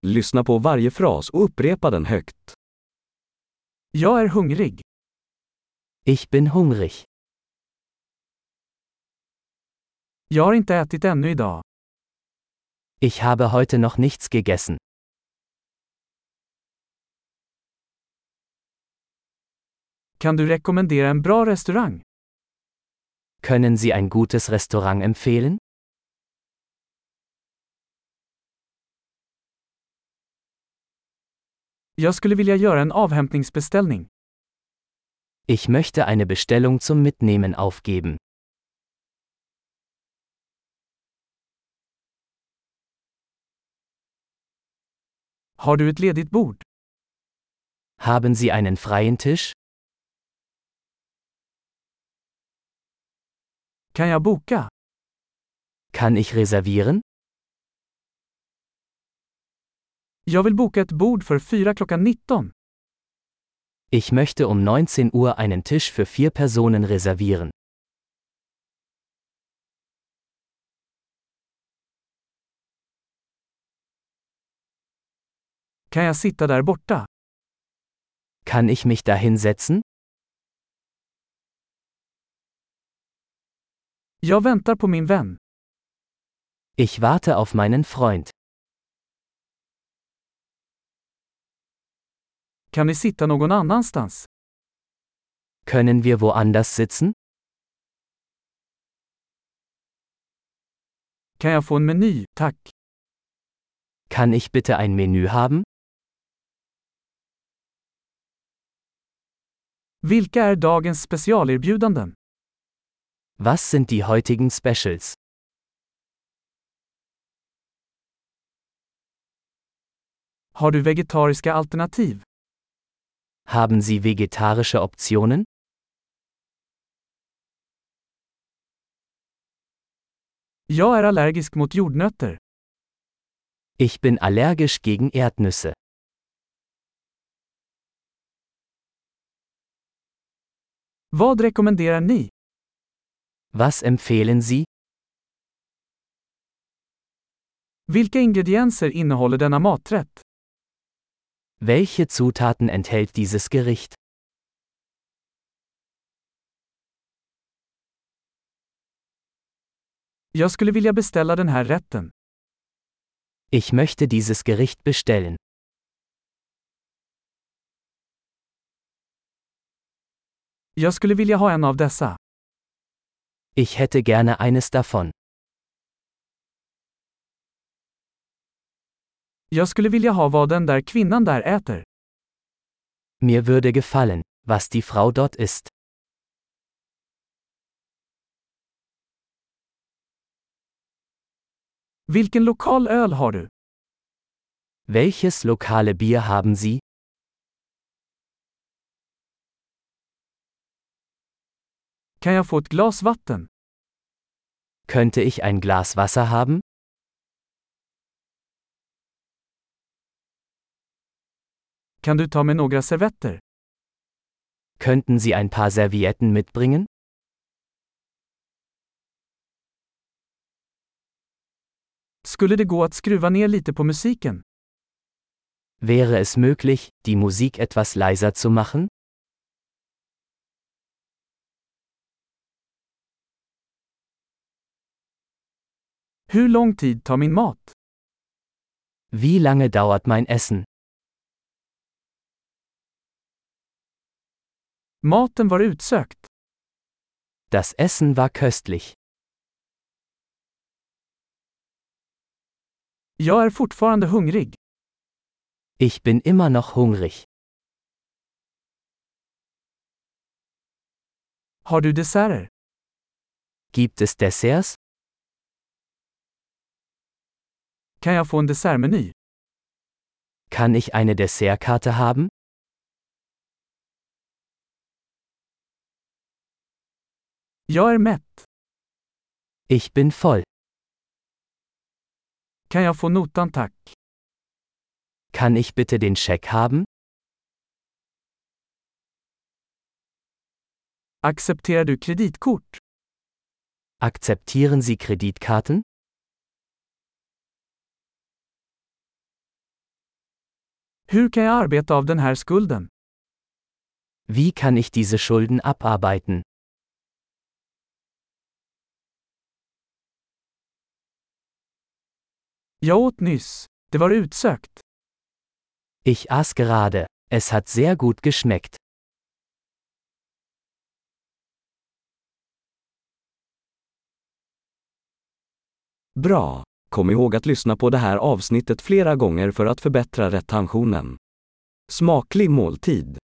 Lyssna på varje fras och upprepa den högt. Jag är hungrig. Ich bin hungrig. Jag har inte ätit ännu idag. Ich habe heute noch nichts gegessen. Kan du rekommendera en bra restaurang? Können Sie ein gutes Restaurant empfehlen? Jag skulle vilja göra en avhämtningsbeställning. Ich möchte eine Bestellung zum Mitnehmen aufgeben. Har du ett ledigt bord? Haben Sie einen freien Tisch? Kan jag boka? Kann ich reservieren? Jag vill boka ett bord för 4 klockan 19. Ich möchte um 19 Uhr einen Tisch für 4 Personen reservieren. Kan jag sitta där borta? Kann ich mich da hinsetzen? Jag väntar på min vän. Ich warte auf meinen Freund. Kan vi sitta någon annanstans? Können wir woanders sitzen? Kan jag få en meny, tack? Kann ich bitte ein Menü haben? Vilka är dagens specialerbjudanden? Was sind die heutigen Specials? Har du vegetariska alternativ? Haben Sie vegetarische Optionen? Jag är allergisk mot jordnötter. Ich bin allergisch gegen Erdnüsse. Vad rekommenderar ni? Was empfehlen Sie? Vilka ingredienser innehåller denna maträtt? Welche Zutaten enthält dieses Gericht? Jag skulle vilja beställa den här rätten. Ich möchte dieses Gericht bestellen. Jag skulle vilja ha en av dessa. Ich hätte gerne eines davon. Jag skulle vilja ha vad den där kvinnan där äter. Mir würde gefallen, was die Frau dort isst. Vilken lokal öl har du? Welches lokale Bier haben Sie? Kan jag få ett glas vatten? Könnte ich ein Glas Wasser haben? Kan du ta med några servetter? Könnten Sie ein paar Servietten mitbringen? Skulle det gå att skruva ner lite på musiken? Wäre es möglich, die Musik etwas leiser zu machen? Hur lång tid tar min mat? Wie lange dauert mein Essen? Maten var utsökt. Das Essen war köstlich. Jag är fortfarande hungrig. Ich bin immer noch hungrig. Har du desserter? Gibt es Desserts? Kan jag få en dessertmeny? Kann ich eine Dessertkarte haben? Jag är mätt. Ich bin voll. Kan jag få notan tack? Kann ich bitte den Scheck haben? Accepterar du kreditkort? Akzeptieren Sie Kreditkarten? Hur kan jag arbeta av den här skulden? Wie kann ich diese Schulden abarbeiten? Jag åt nyss. Det var utsökt. Ich aß gerade. Es hat sehr gut geschmeckt. Bra! Kom ihåg att lyssna på det här avsnittet flera gånger för att förbättra retentionen. Smaklig måltid!